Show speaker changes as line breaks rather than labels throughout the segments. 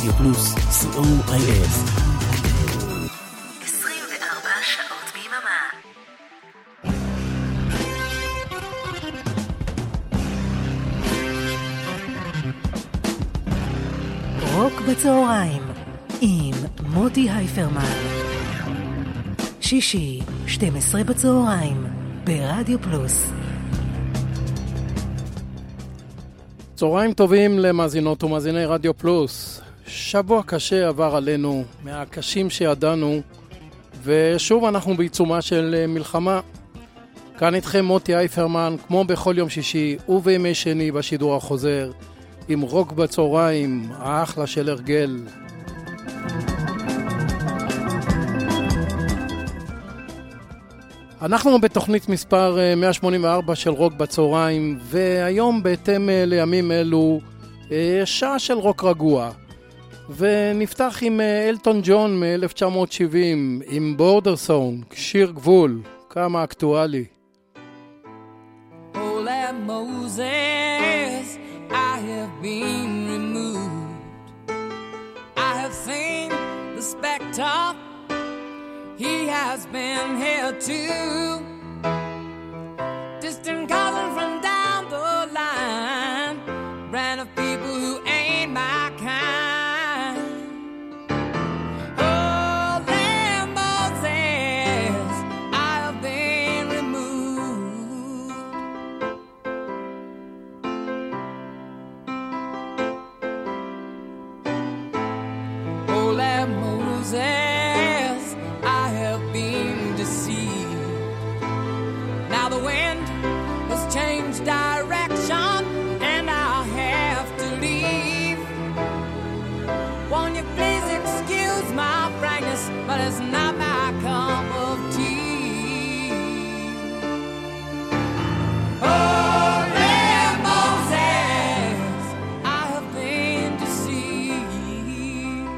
רדיו פלוס, COIF.
24 שעות ביממה. רוק בצהריים עם מוטי הייפרמן. שישי, 12 בצהריים, ברדיו פלוס.
צהריים טובים למאזינות ומאזיני רדיו פלוס. שבוע קשה עבר עלינו, מהקשים שידענו, ושוב אנחנו בעיצומה של מלחמה. כאן איתכם מוטי הייפרמן, כמו בכל יום שישי ובימי שני בשידור החוזר, עם רוק בצהריים, האחלה של הרגל. אנחנו בתוכנית מספר 184 של רוק בצהריים, והיום בהתאם לימים אלו שעה של רוק רגוע. ונפתח עם אלטון ג'ון מ-1970 עם בורדר סונג, שיר גבול, כמה אקטואלי.
Oh, let Moses, I have been removed. I have seen the spectre, he has been here too. Distant cousin from down the line, brand of people who ain't my kind. Oh, let Moses, I have been removed. Oh, let Moses, I have been deceived. Now the wind has changed direction and I'll have to leave. Won't you please excuse my frankness, but it's not my cup of tea. Oh, let Moses, I have been deceived.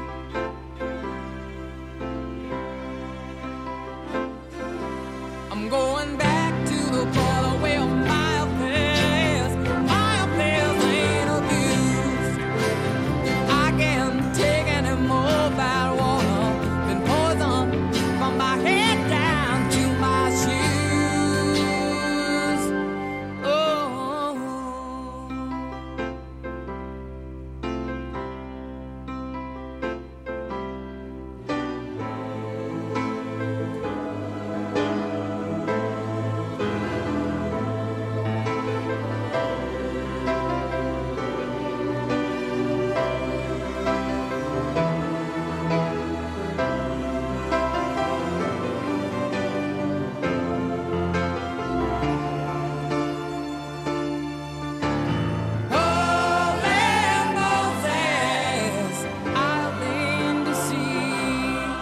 I'm going back to the border where my affairs ain't abused. I can't take any more bad water than poison from my head down to my shoes. Oh. Oh, let Moses, I've been deceived.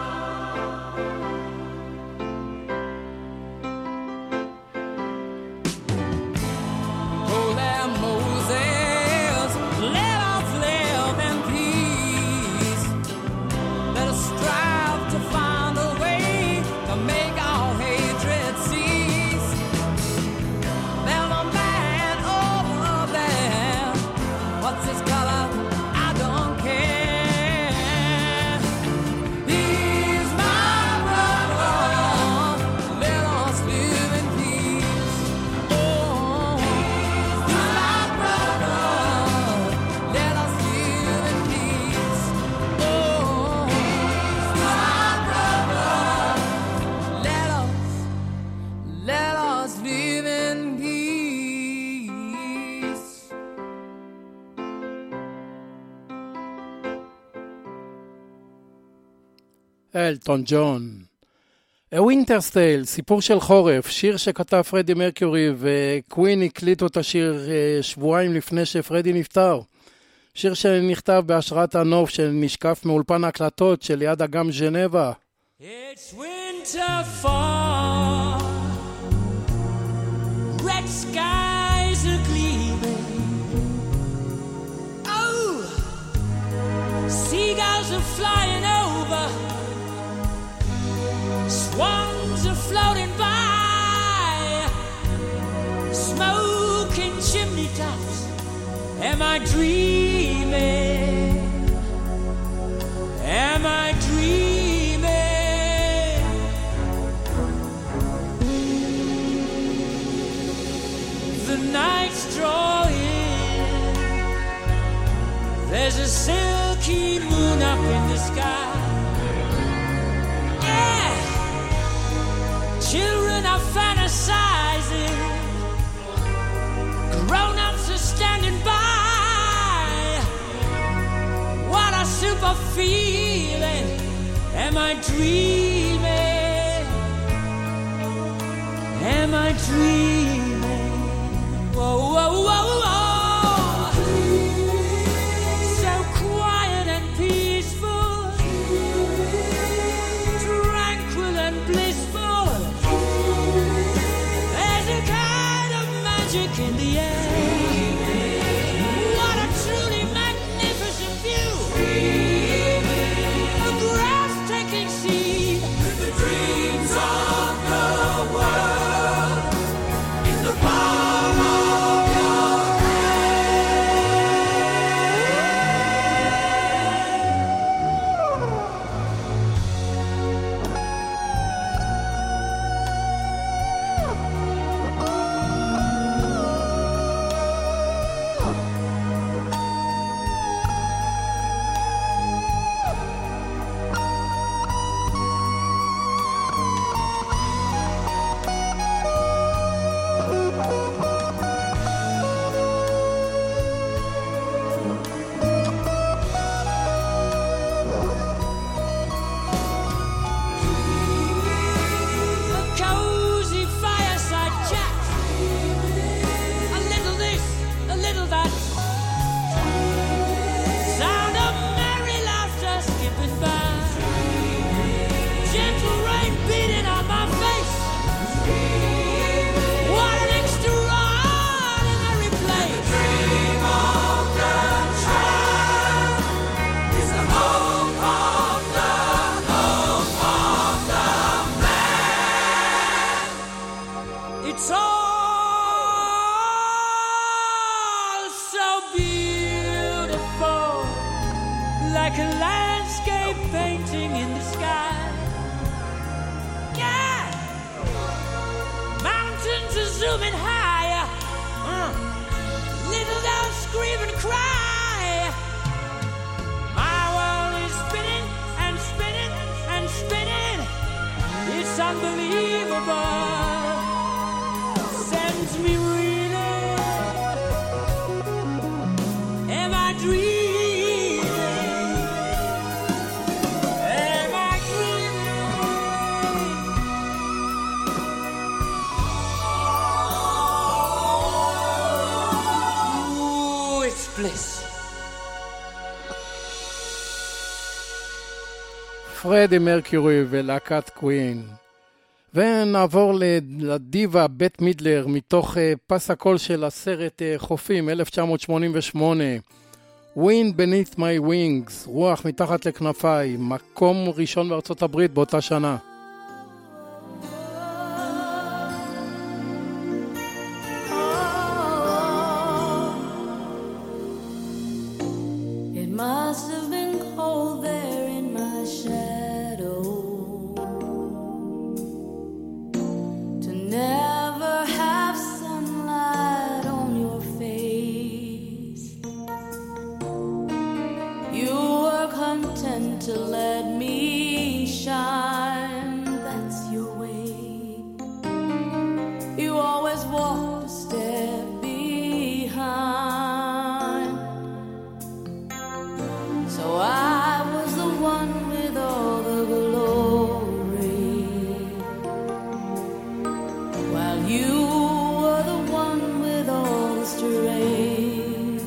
Oh, let Moses, let us live in peace. Let us strive to find a way to make our hatred cease. There's a man over there. What's his color? I don't care. He's my brother. Let us live in peace. Oh, he's my brother. Let us live in peace. Oh, he's my brother. Let us live in peace.
אלטון ג'ון. A Winter's Tale, סיפור של חורף, שיר שכתב פרדי מרקיורי, וקווין הקליטו את השיר שבועיים לפני שפרדי נפטר. שיר שנכתב בהשראת הנוף שנשקף מאולפן ההקלטות של יד אגם ז'נבה.
It's winter fall, red skies are gleaming. Oh, seagulls are flying over, swans are floating by, smoking chimney tops. Am I dreaming?
the night's drawing, there's a silky moon up in the sky. Yeah, children are fantasizing, grown-ups are standing by. What a super feeling. Am I dreaming? Am I dreaming? Whoa, whoa, whoa, whoa. So quiet and peaceful, tranquil and blissful. There's a kind of magic in the air. What a truly magnificent view. A breathtaking scene. The dreams of the world in the palm of your like a landscape painting in the sky. Yeah, mountains are zooming higher. Little dogs scream and cry. My world is spinning and spinning and spinning. It's unbelievable. Sends me reeling. Am I dreaming?
פרדי מרקיורי ולהקת קווין. ונעבור לדיבה בית מידלר מתוך פס הקול של הסרט חופים 1988. Wind Beneath My Wings, רוח מתחת לכנפיי, מקום ראשון בארצות הברית באותה שנה.
Must have been cold there in my shadow to never have sunlight on your face. You were content to let me shine, that's your way. You always walked a step behind. So I was the one with all the glory, while you were the one with all the strength.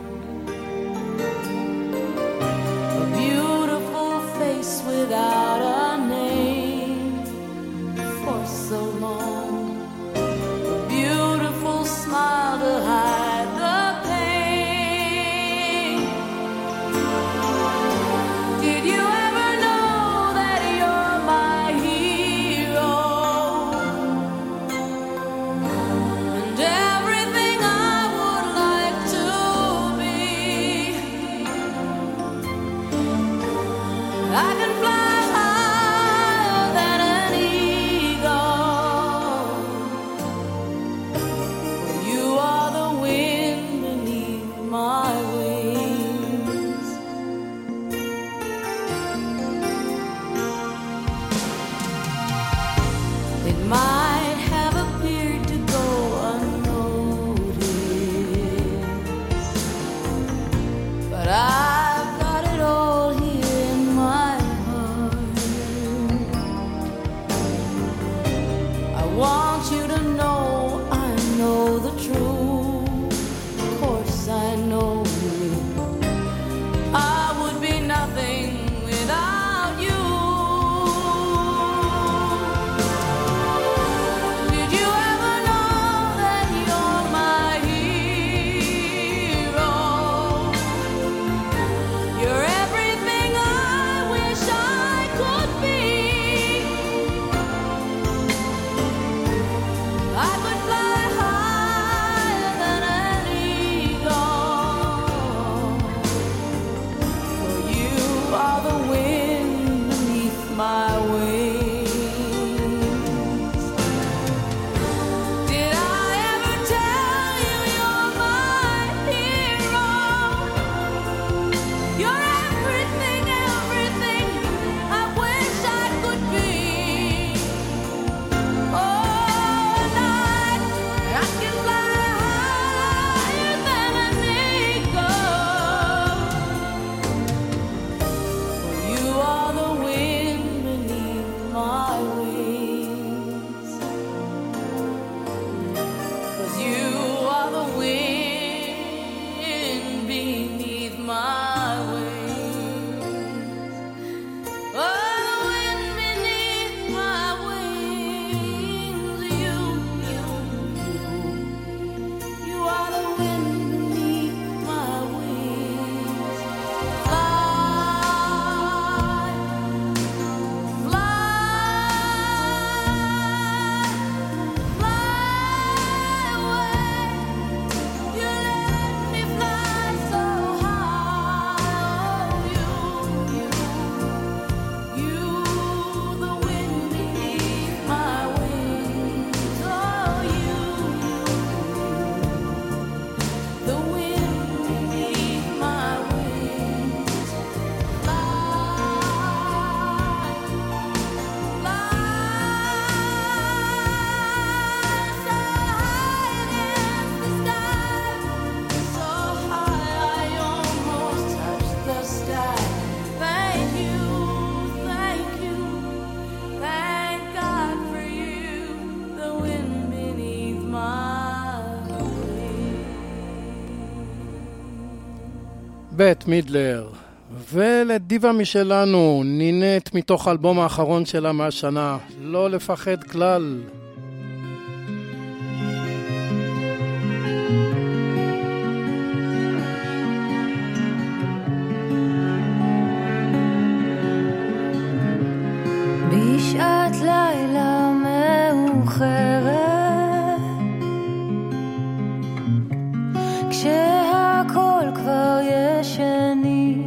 A beautiful face without a name for so long. A beautiful know the truth. Of course I know you. I would be nothing without you. Did you ever know that you're my hero? You're everything I wish I could be. I could fly higher than an eagle. For you are the wind beneath my wings. Did I ever tell you you're my hero? You're everything, everything I wish I could be. Oh, night I can fly higher than an eagle. For you are the wind beneath my wings. 'Cause you are the wind beneath my wings. Oh, the wind beneath my wings. You are the wind beneath my wings. Fly, fly away. You let me fly so high. You, the wind beneath my wings. Oh, you, the wind beneath my wings. Fly, fly so high against the sky, so high I almost touch the sky. Thank you, thank God for you, the wind beneath my wings.
בית מידלר. ולדיבה משלנו, נינט מתוך האלבום האחרון שלה מהשנה, לא לפחד כלל.
בשעת לילה מאוחרת, כשהכל כבר ישני,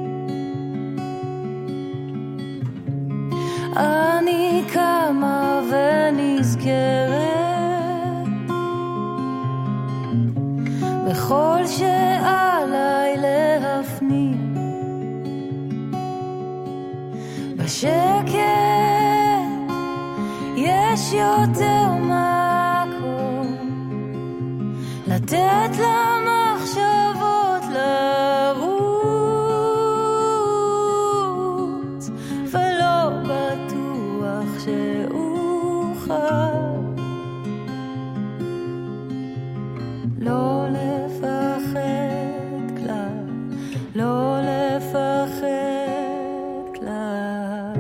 אני קמה ונזכרת בכל שעליי להפנים, בשקט יש יותר מקום לתת למחשבות לרוץ, ולא בטוח שאוכל לא לפחד כלל, לא לפחד כלל.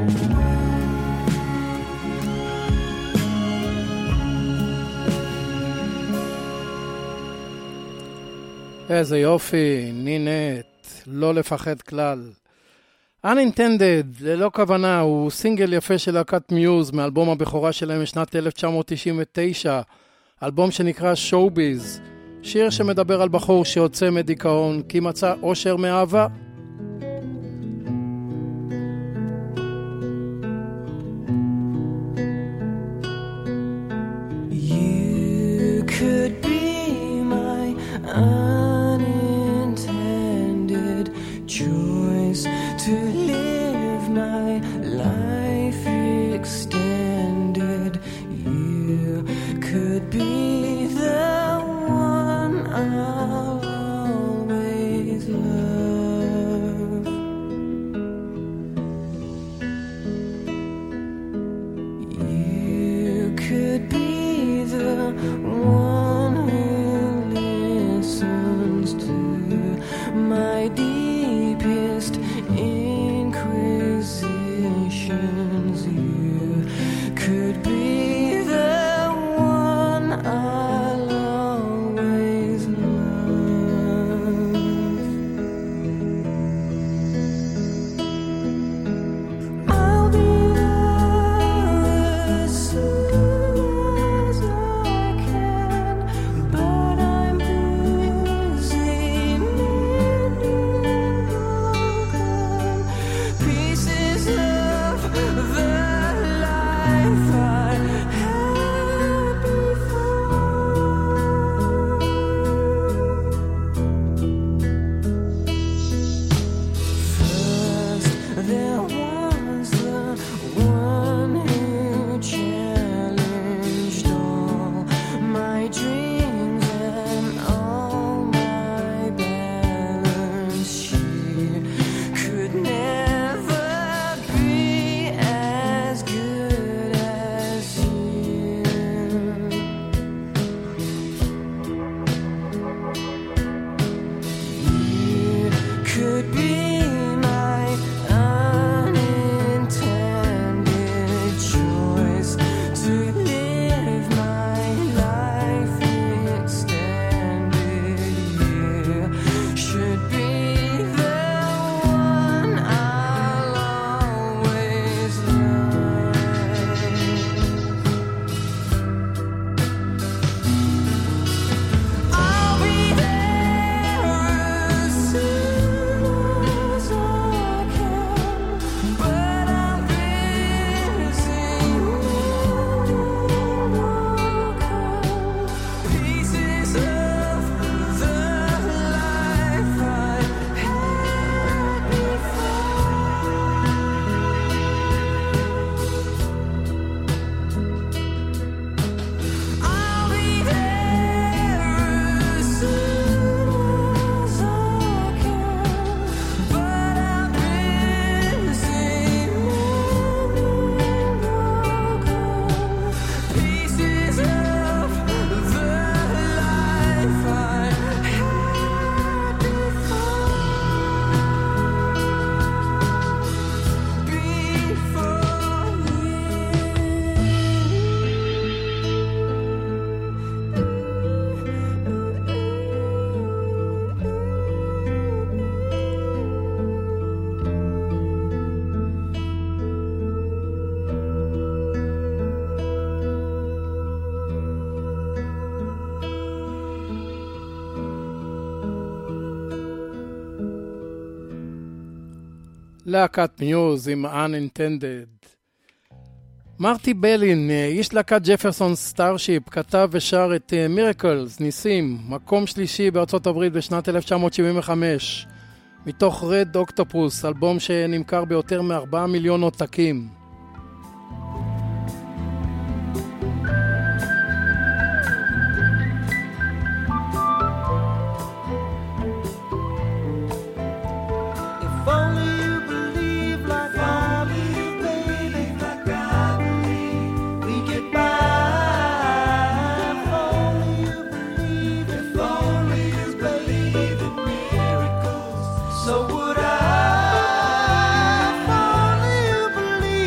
איזה יופי, נינט, לא לפחד כלל. Unintended, ללא כוונה, הוא סינגל יפה של להקת מיוז מאלבום הבכורה שלהם משנת 1999, אלבום שנקרא Showbiz, שיר שמדבר על בחור שיוצא מדיכאון כי מצא אושר מאהבה.
You could be my unintended choice to live my life extended. You could be the one I'll always love. You could be the one who listens to my deepest inquisitions. You could be the one I'll always love. I'll be there as soon as I can, but I'm busy mending broken pieces of the life I had before. First, there was the one who challenged all my dreams and all my balance. She could never be as good as you. You could be my unintended choice to live my life extended. You should be the one I'll always love. I'll be there as soon as I can, but I'm busy mending broken pieces of the life I had before. I'll be there as soon as I can, but I'm busy mending broken pieces of the life I had
להקת מיוז עם Unintended. מרטי בלין, איש להקת ג'פרסון סטארשיפ, כתב ושר את מירקלס, ניסים, מקום שלישי בארצות הברית בשנת 1975, מתוך רד אוקטופוס, אלבום שנמכר ביותר מ4 מיליון עותקים.
If only you believe like I believe, baby, like I believe, we get by. If only you believe, if only you believe in miracles, so would I. If only you believe.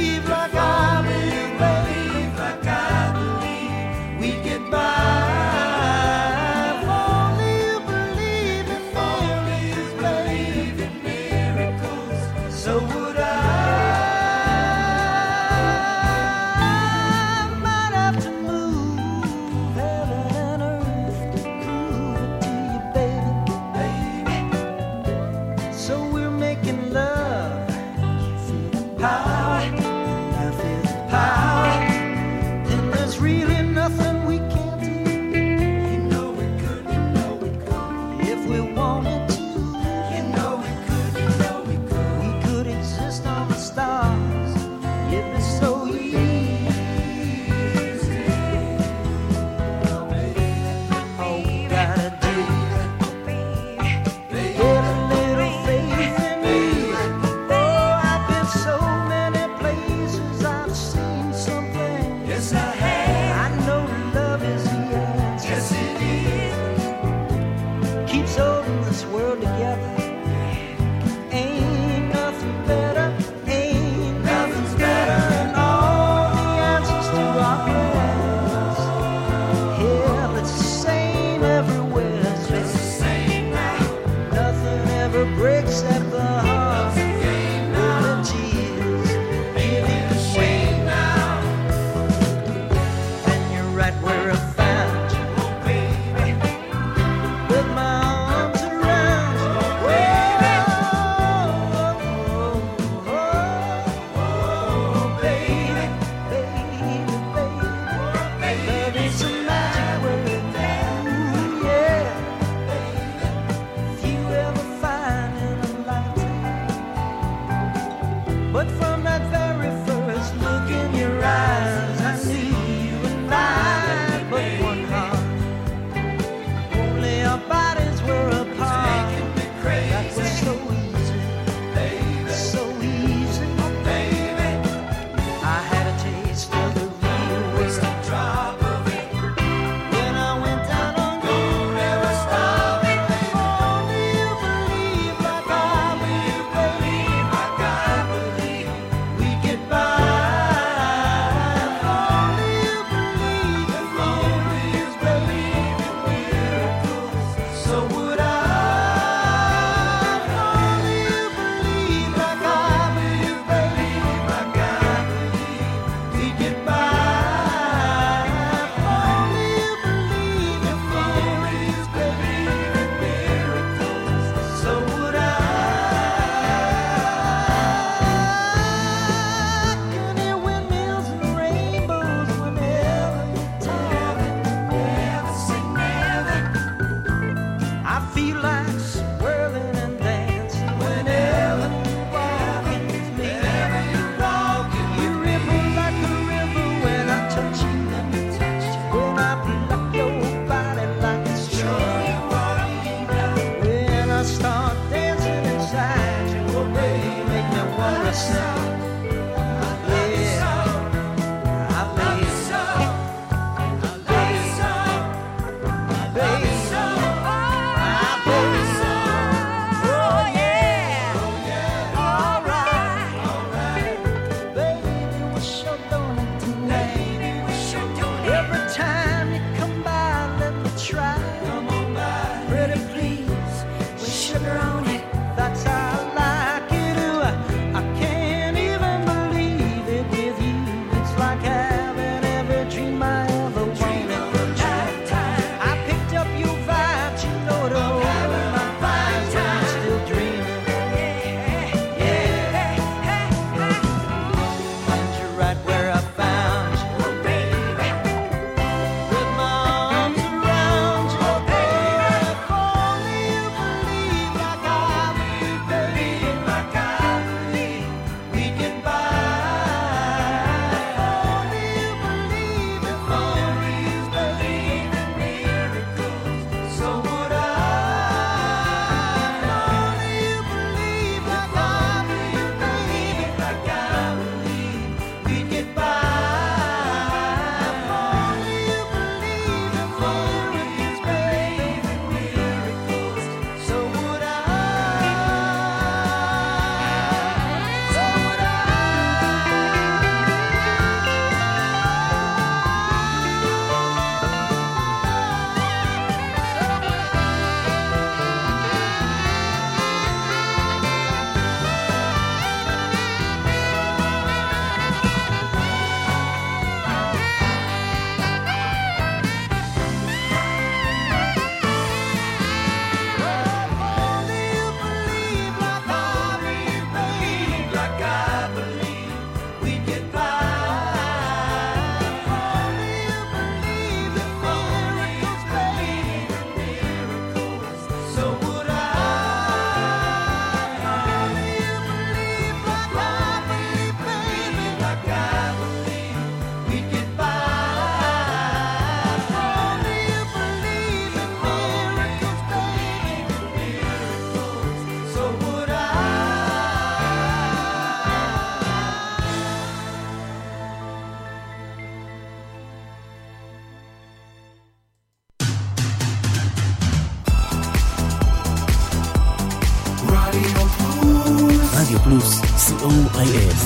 COIF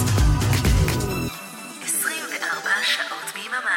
24 שעות ביממה.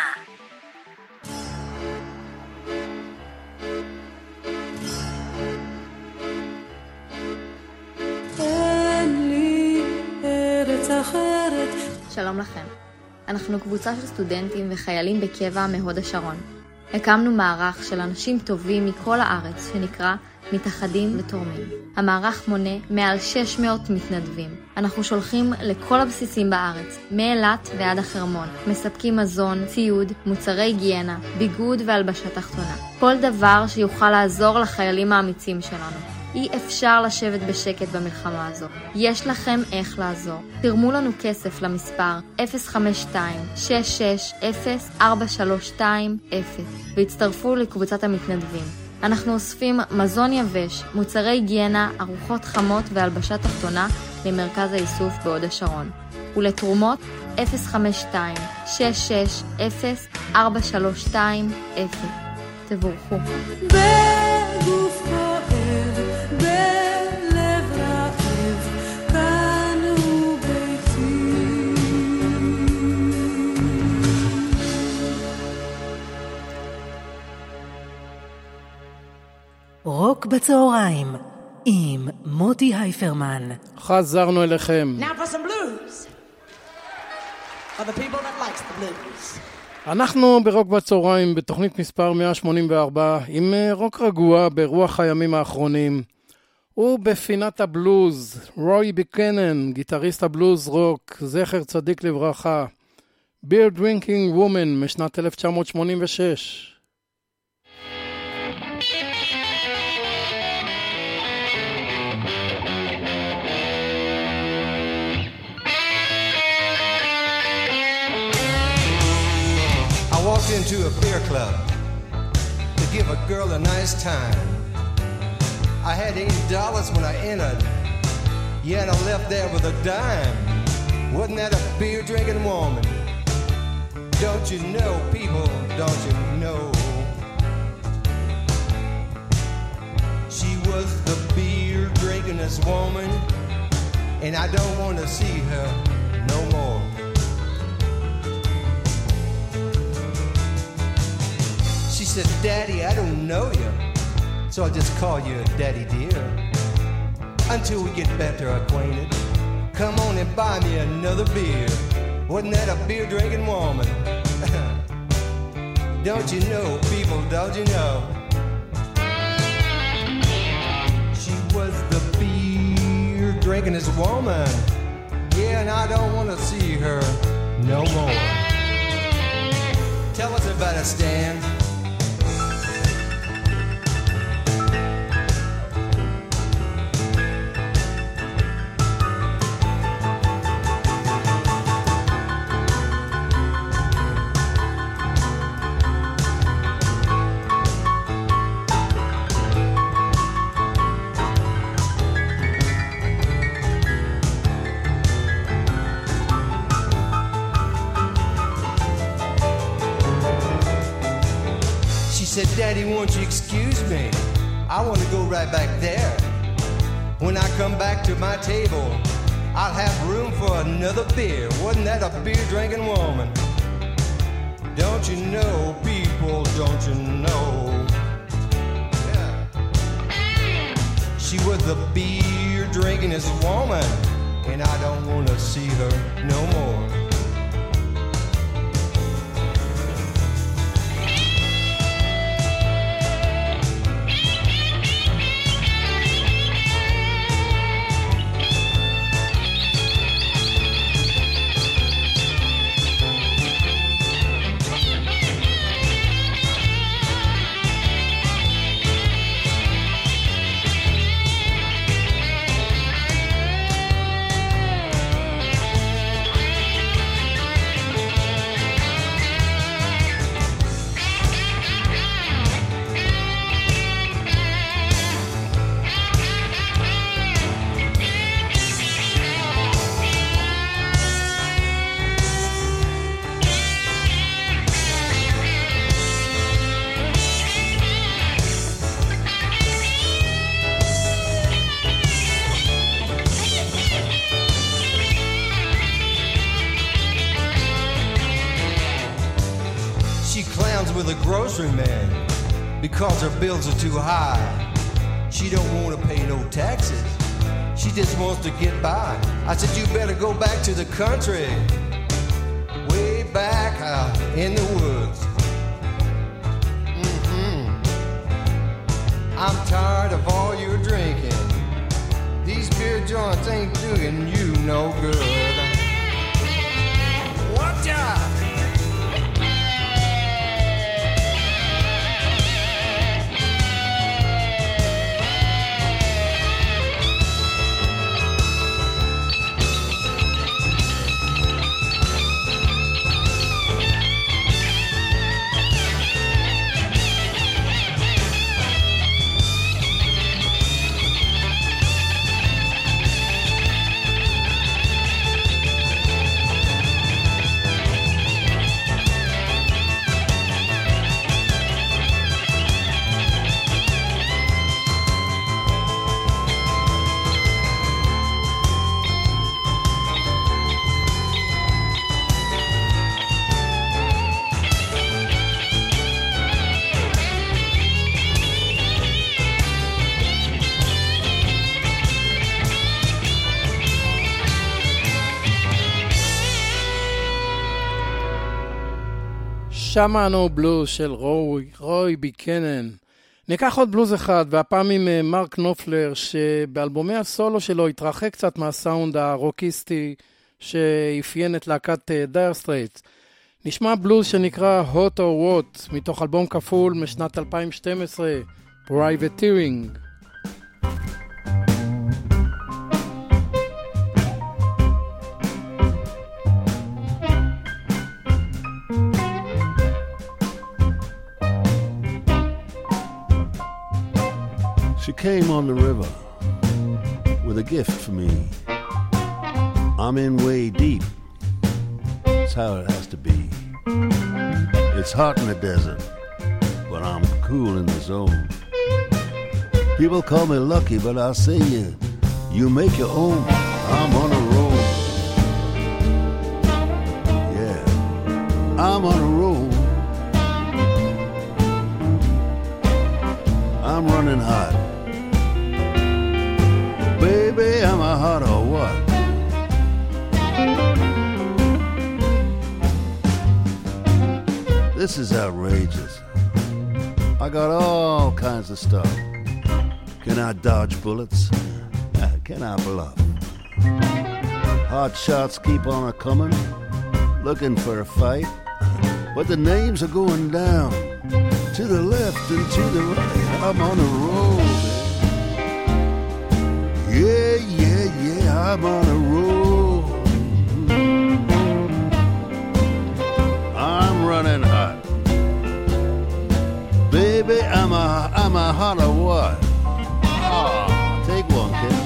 אין לי ארץ אחרת.
שלום לכם. אנחנו קבוצה של סטודנטים וחיילים בקבע מהוד השרון. הקמנו מערך של אנשים טובים מכל הארץ שנקרא מתאחדים ותורמים. המערך מונה מעל 600 מתנדבים. אנחנו שולחים לכל הבסיסים בארץ, מאילת ועד החרמון. מספקים מזון, ציוד, מוצרי היגיינה, ביגוד והלבשה תחתונה. כל דבר שיוכל לעזור לחיילים האמיצים שלנו. אי אפשר לשבת בשקט במלחמה הזו. יש לכם איך לעזור. תרמו לנו כסף למספר 052-660-4320 והצטרפו לקבוצת המתנדבים. אנחנו אוספים מזון יבש, מוצרי היגיינה, ארוחות חמות והלבשה תחתונה למרכז האיסוף בהוד השרון. ולתרומות 052-660-4320. תבורכו.
בגוף כואב, בלב רעב, כאן הוא ביתי.
רוק בצהריים עם מוטי הייפרמן.
חזרנו אליכם.
Now for some blues. For the people that likes the blues.
אנחנו ברוק בצהריים בתוכנית מספר 184 עם רוק רגוע ברוח הימים האחרונים. ובפינת הבלוז, רוי ביקנן, גיטריסט הבלוז רוק, זכר צדיק לברכה. Beer Drinking Woman משנת 1986.
I walked into a beer club to give a girl a nice time. I had $80 when I entered, yet I left there with a dime. Wasn't that a beer drinking woman? Don't you know, people, don't you know? She was the beer drinkingest woman, and I don't want to see her no more. She said, Daddy, I don't know you, so I'll just call you Daddy dear. Until we get better acquainted, come on and buy me another beer. Wasn't that a beer drinking woman? Don't you know, people, don't you know? She was the beer drinkingest woman. Yeah, and I don't want to see her no more. Tell us about it, Stan. Said, Daddy, won't you excuse me? I want to go right back there. When I come back to my table, I'll have room for another beer. Wasn't that a beer drinking woman? Don't you know, people, don't you know? Yeah. She was the beer drinkingest woman, and I don't want to see her no more. with a grocery man because her bills are too high. She don't want to pay no taxes. She just wants to get by. I said, you better go back to the country, way back out in the woods. I'm tired of all your drinking. These beer joints ain't doing you no good. Watch out!
שמענו בלוז של רוי ביקנן. ניקח עוד בלוז אחד, והפעם עם מרק נופלר, שבאלבומי הסולו שלו התרחק קצת מהסאונד הרוקיסטי שאפיין את להקת דייר סטרייטס. נשמע בלוז שנקרא Hot or What, מתוך אלבום כפול משנת 2012, Privateering.
She came on the river with a gift for me. I'm in way deep. That's how it has to be. It's hot in the desert, but I'm cool in the zone. People call me lucky, but I'll say you make your own. I'm on a roll. Yeah, I'm on a roll. I'm running hot. Baby, am I hot or what? This is outrageous. I got all kinds of stuff. Can I dodge bullets? Can I bluff? Hot shots keep on a-coming, looking for a fight. But the names are going down, to the left and to the right. I'm on a roll. Yeah, yeah, yeah, I'm on a roll. I'm running hot. Baby, I'm a hot or what? Ah, take one, kid.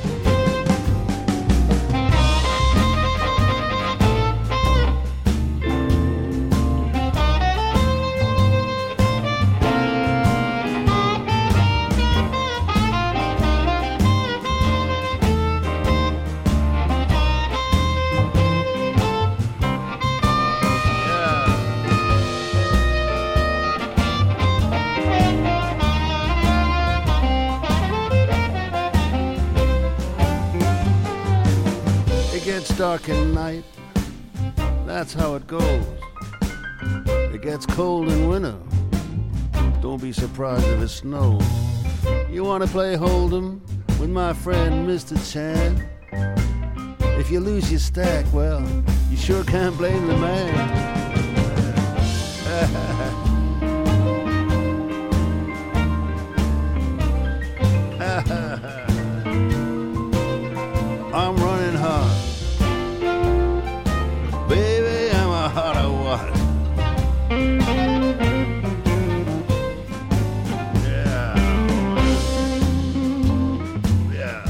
Dark at night, that's how it goes. It gets cold in winter, don't be surprised if it snows. You want to play Hold'em with my friend Mr. Chan? If you lose your stack, well, you sure can't blame the man. I'm running hard. Baby, I'm a hot or what? Yeah. Yeah.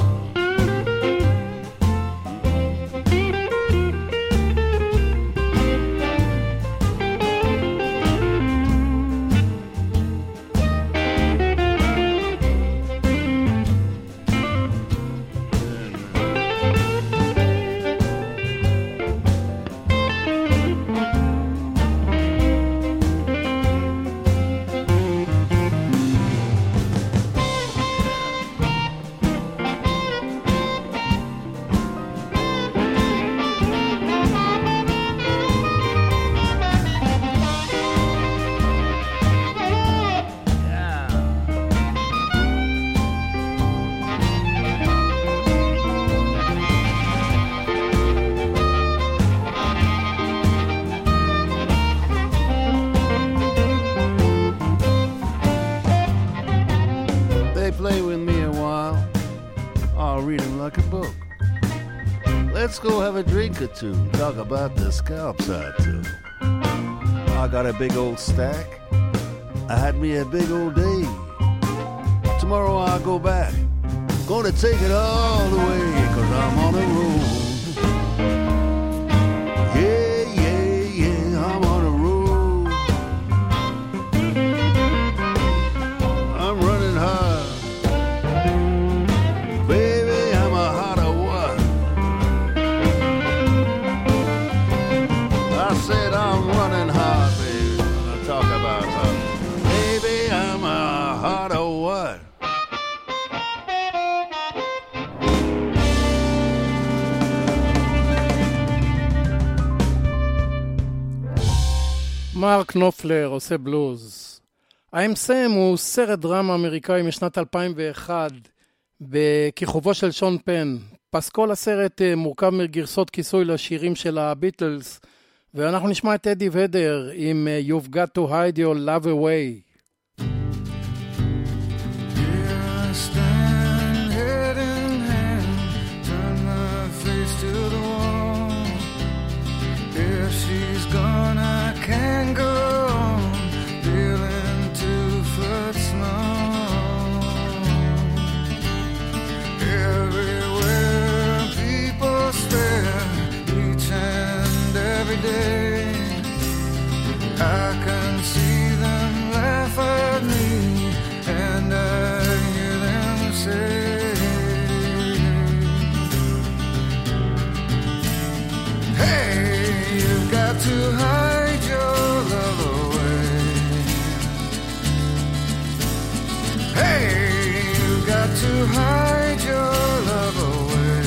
let's go have a drink or two. Talk about the scalps I took. I got a big old stack. I had me a big old day. Tomorrow I'll go back. Gonna take it all the way, 'cause I'm on a roll. Yeah, yeah, yeah, I'm on a roll. I'm running hard. Baby, I'm a hot or what? I said I'm running hard, baby. I talk about her. Baby, I'm a hot or what?
מרק נופלר עושה בלוז. I'm Sam הוא סרט דרמה אמריקאי משנת 2001 בכיכובו של שון פן. פסקול הסרט מורכב מגרסות כיסוי לשירים של הביטלס, ואנחנו נשמע את אדי ודר עם You've Got to Hide Your Love Away.
She's gone, I can't go on, feeling 2 foot small. Everywhere people stare, each and every day, I can see them laugh at me, and I hear them say, hey, you've got to hide your love away. Hey, you've got to hide your love away.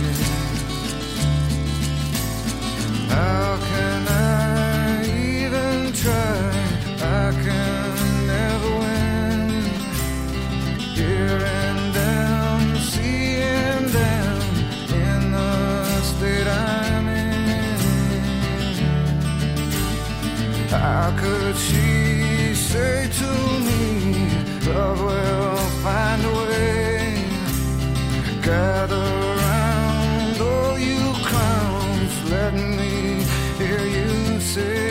How can I even try? I can never win. Hearing them, seeing them in the state I'm in. How could she say to me, love will find a way? Gather round, all you clowns, let me hear you say,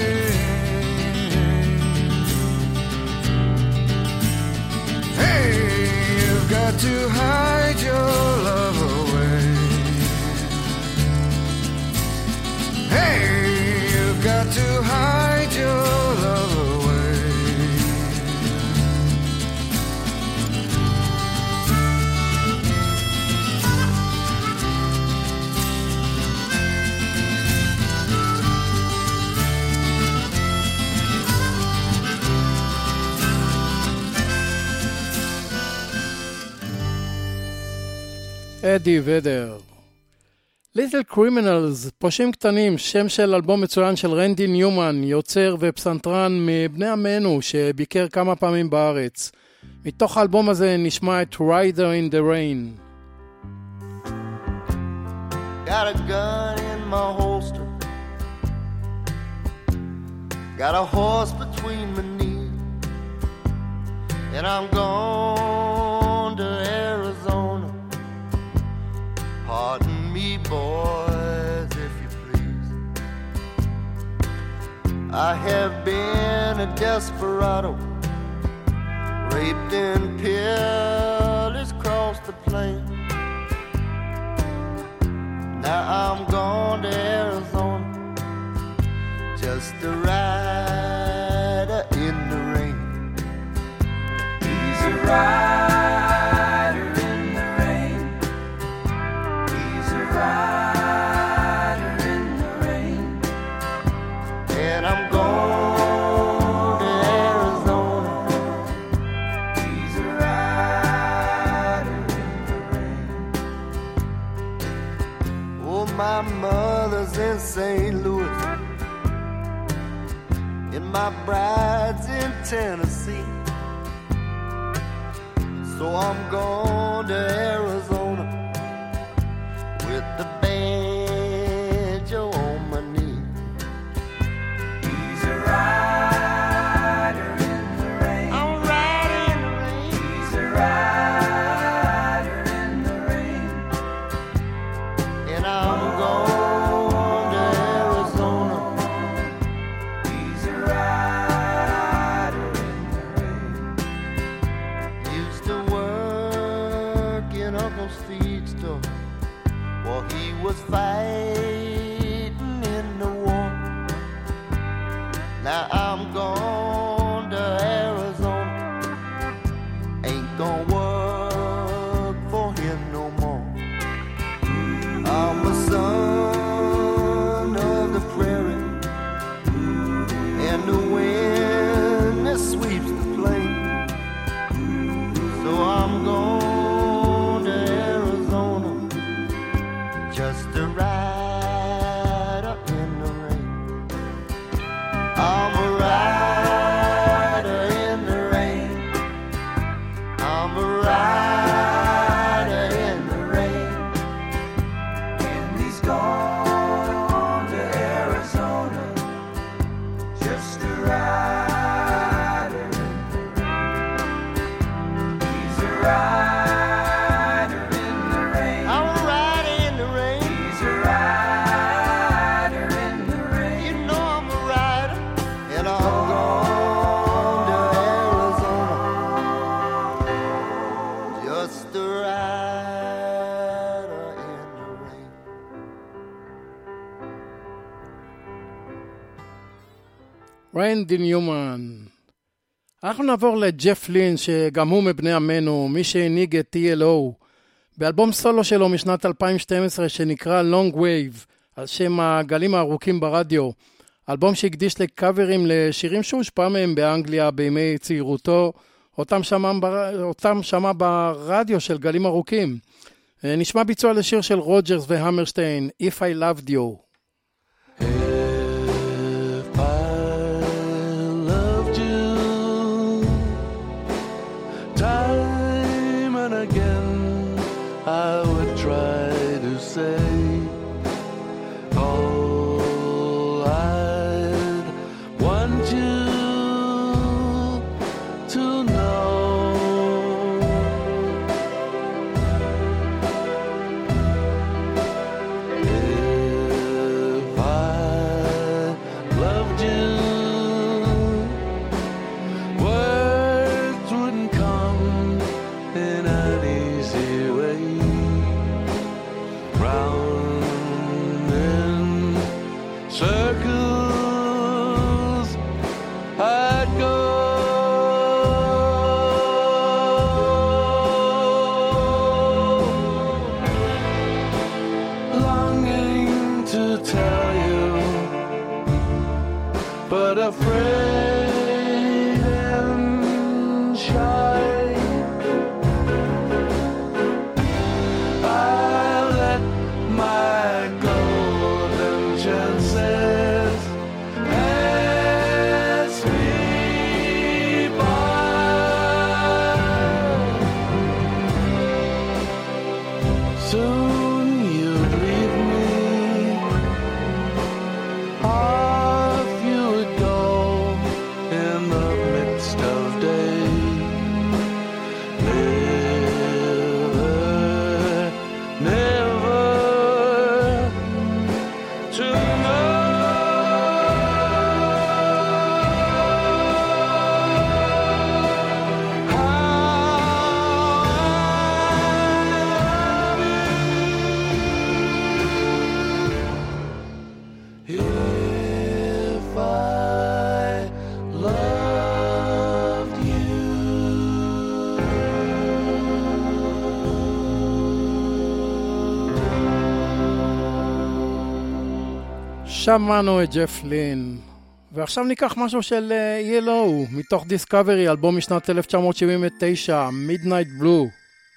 hey, you've got to hide your love away. Hey, you've got to hide your love away.
אדי ודר. ליטל קרימינלס, פושעים קטנים, שם של אלבום מצוין של רנדי ניומן, יוצר ופסנתרן מבני עמנו שביקר כמה פעמים בארץ. מתוך האלבום הזה נשמע את Rider in the Rain.
Got a gun in my holster, got a horse between my knees, and I'm gone to Arizona. Pardon me, boys, if you please. I have been a desperado, raped and pillaged across the plain. Now I'm gone to Arizona, just a rider in the rain. He's a rider in the rain. He's a rider in the rain. And I'm going to Arizona. He's a rider in the rain. Oh, my mother's in St. Louis, and my bride's in Tennessee. So I'm going to Arizona with the banjo on my knee. He's a rider in the rain. I'm riding in the rain. He's a rider in the rain. And I'm going Now I'm gone to Arizona. Ain't gonna work for him no more. I'm a son of the prairie, and the wind that sweeps the plain. So I'm going to Arizona just to ride up in the rain. I'm a rider in the rain. I'm a rider in the rain. And he's gone to Arizona just to ride in the rain. He's a rider in the rain. I'm a rider in the rain. He's a rider in the rain. You know I'm a rider, and I'm gone to Arizona just a rider in the rain.
ריינדי ניומן. אנחנו נעבור לג'ף לין, שגם הוא מבני עמנו, מי שהנהיג את TLO, באלבום סולו שלו משנת 2012 שנקרא Long Wave, על שם הגלים הארוכים ברדיו, אלבום שהקדיש לקאברים לשירים שהושפע מהם באנגליה בימי צעירותו, אותם שמע ברדיו של גלים ארוכים. נשמע ביצוע לשיר של רוג'רס והמרשטיין, If I Loved You.
Time and again I would try to say all I'd want you to know. If I loved you, words wouldn't come in an easy way. Round in circles I'd go. Longing to tell you, but afraid and shy. I let my golden chances pass me by. Soon you'd leave me, off you would go in the midst of day. Never, never to know. If I loved you.
שמענו את ג'ף לין. ועכשיו ניקח משהו של TLO, מתוך דיסקאברי, אלבום משנת 1979, Midnight Blue.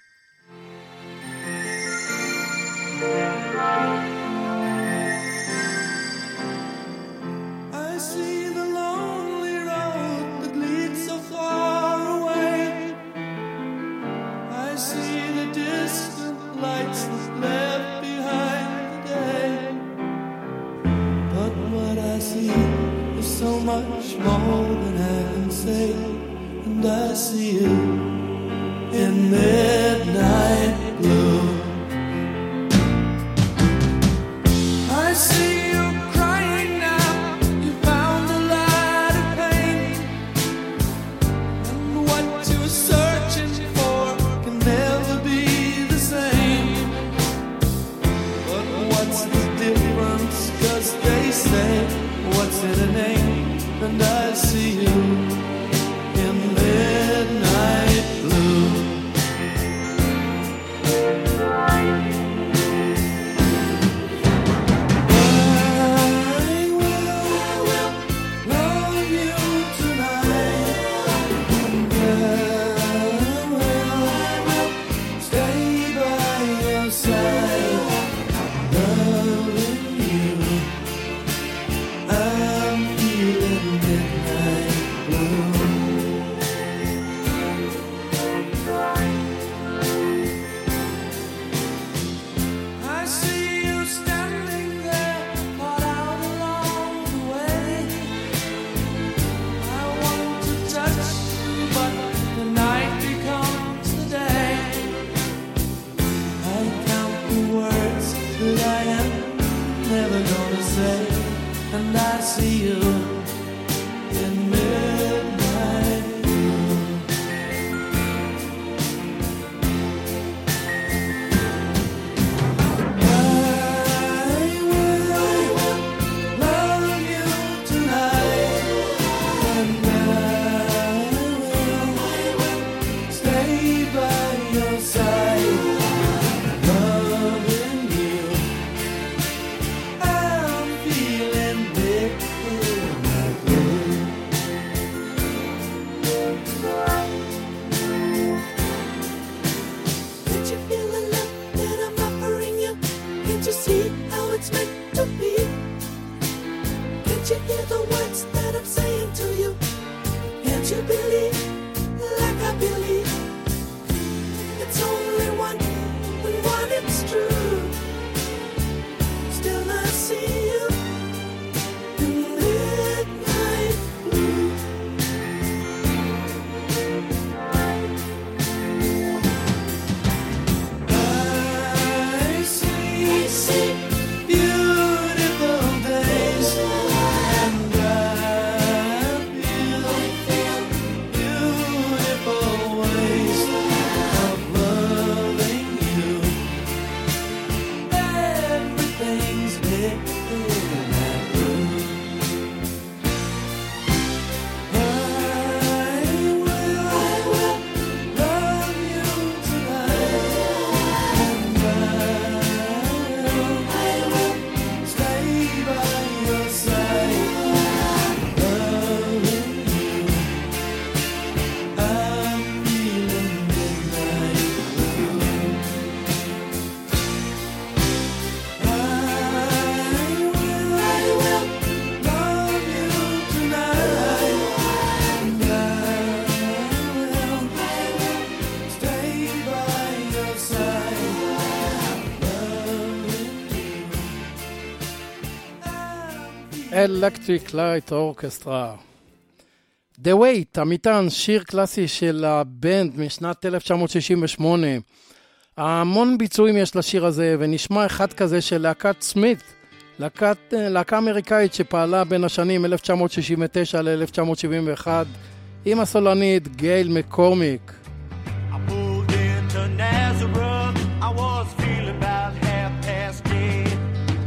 I see the lonely road that leads so far away. I see the distant lights that left behind the day. But what I see is so much more than I can say. And I see you in midnight blue. I see you crying now. You found a light of pain, and what you're searching for can never be the same. But what's the difference? 'Cause they say, what's in a name? and I see you in midnight blue.
Electric Light Orchestra. The Wait, המטען, שיר קלאסי של הבנד משנת 1968. המון ביצועים יש לשיר הזה, ונשמע אחד כזה של להקת סמית, להקה אמריקאית שפעלה בין השנים 1969 ל-1971, עם הסולנית גייל מקורמיק.
I moved into Nazareth, I was feeling about 10:30.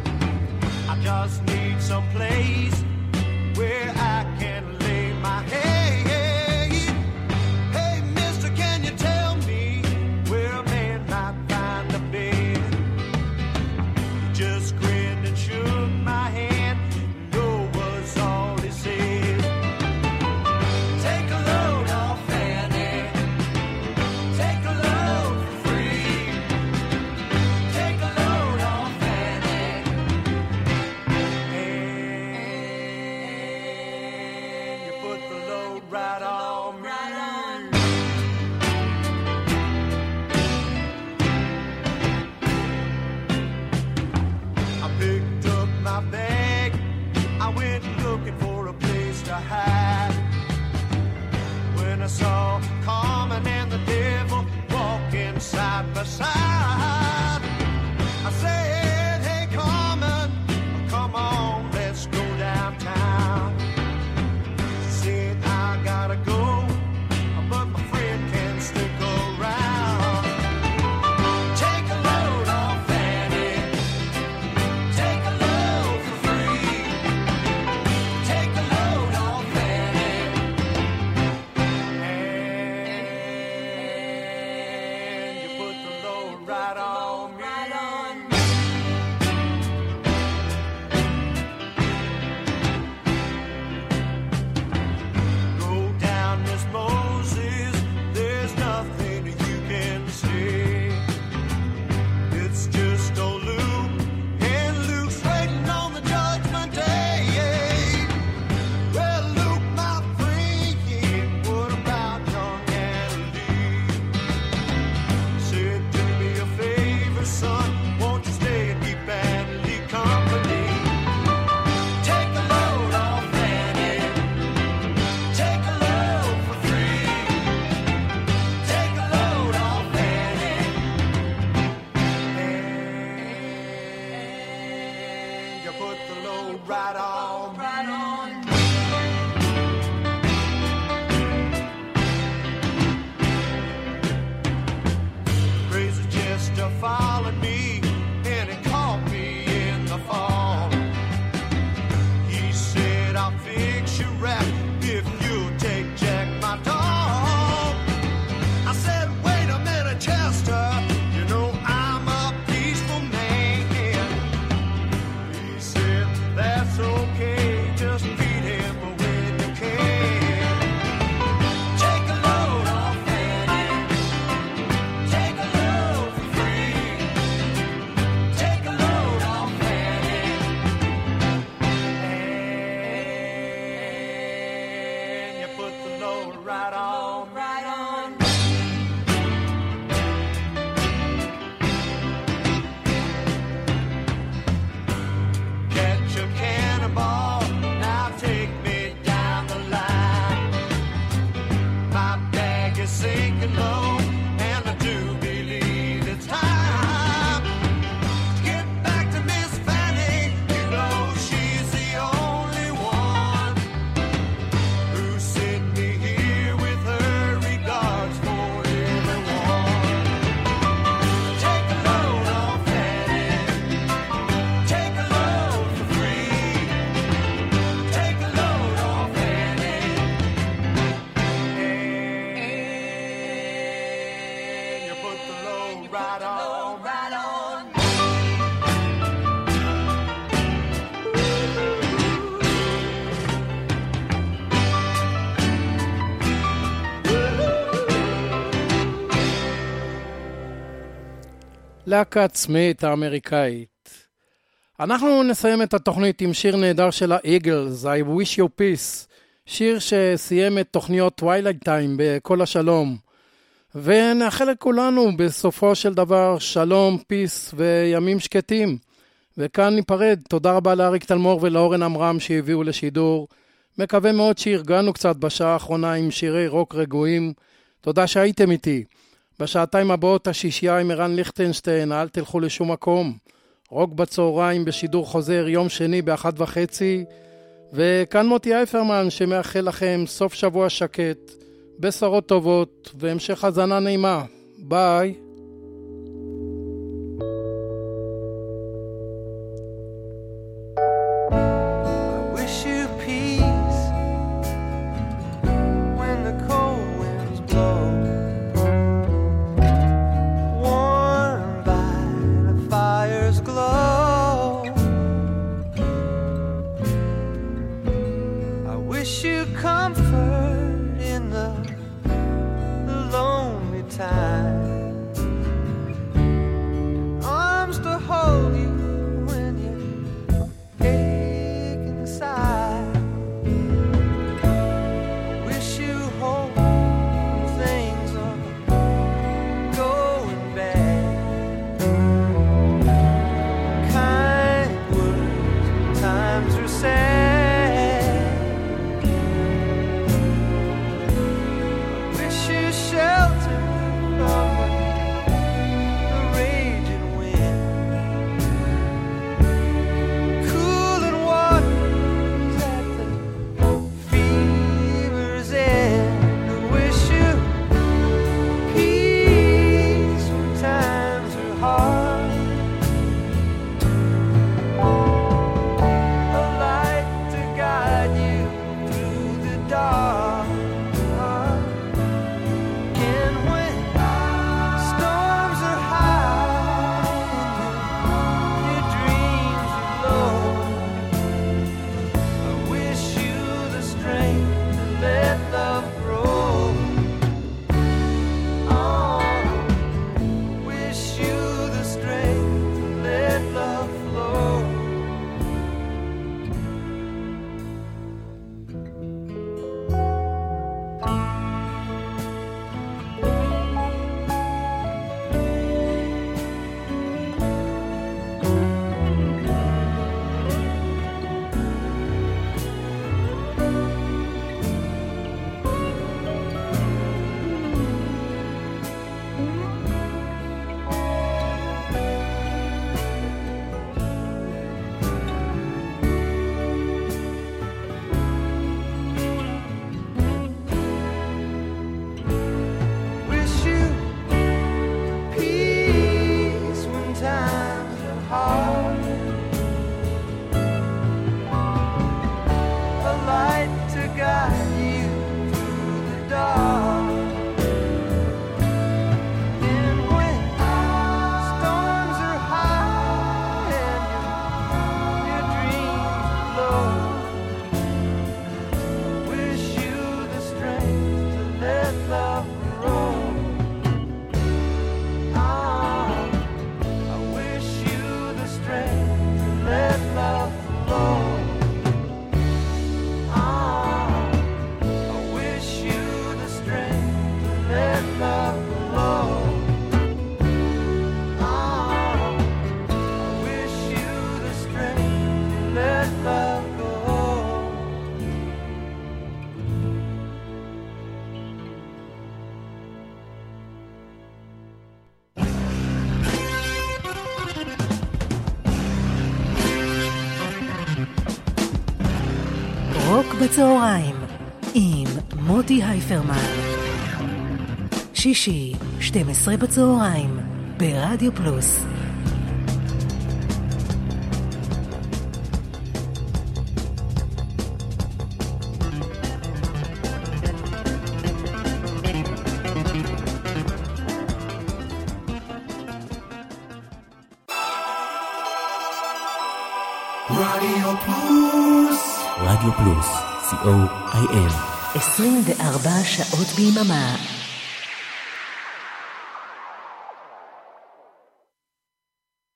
I just need some place where I can lay my head. Hey, mister, can you tell me where a man might find a bed? He just grinned and shook my hand. No was all he said. Take a load off Fanny. Take a load for free. Take a load off Fanny. And you put the load right on me. I picked up my bag. I went looking for a place to hide. When I saw Carmen and the devil walking side by side, I said, hey Carmen, come on, let's go downtown. She said, I gotta go, but my friend can stick around. Take a load off Fanny. Take a load for free. Take a load off I'll fix your rap if you'll take Jack, my dog. I said, wait a minute, Chester, you know I'm a peaceful man. He said, that's okay, just beat him when you can. Take a load off Fanny, take a load for free. Take a load off Fanny, and you put the load right on, right on. Catch a cannonball, now take me down the line. My bag is sinking low, and I do believe it's time to get back to Miss Fanny. You know she's the only one who sent me here with her regards for everyone. Take a load off Fanny, take a load for free. Take a load off Fanny, and you put the load right on, right on.
להקת סמית האמריקאית. אנחנו נסיים את התוכנית עם שיר נהדר של האיגלס, I Wish You Peace, שיר שסיים את תוכניות Twilight Time בכל השלום. ונאחל לכולנו בסופו של דבר שלום, פיס וימים שקטים. וכאן ניפרד. תודה רבה לאריק תלמור ולאורן אמרם שהביאו לשידור. מקווה מאוד שהרגענו קצת בשעה האחרונה עם שירי רוק רגועים. תודה שהייתם איתי. בשעתיים הבאות השישייה עם ערן ליכטנשטיין, אל תלכו לשום מקום. רוק בצהריים בשידור חוזר יום שני ב13:30. וכאן מוטי אייפרמן שמאחל לכם סוף שבוע שקט, בשורות טובות והמשך הזנה נעימה. ביי.
Wish you peace when the cold winds blow, warmed by the fire's glow. I wish you comfort in the lonely time, arms to hold you when you're aching inside. I wish you hope when things are going bad. Kind words when times are sad. I wish you shelter from
רוק בצהריים עם מוטי הייפרמן. שישי, 12 בצהריים, ברדיו פלוס.
רדיו פלוס. רדיו פלוס, co.il.
24 שעות ביממה.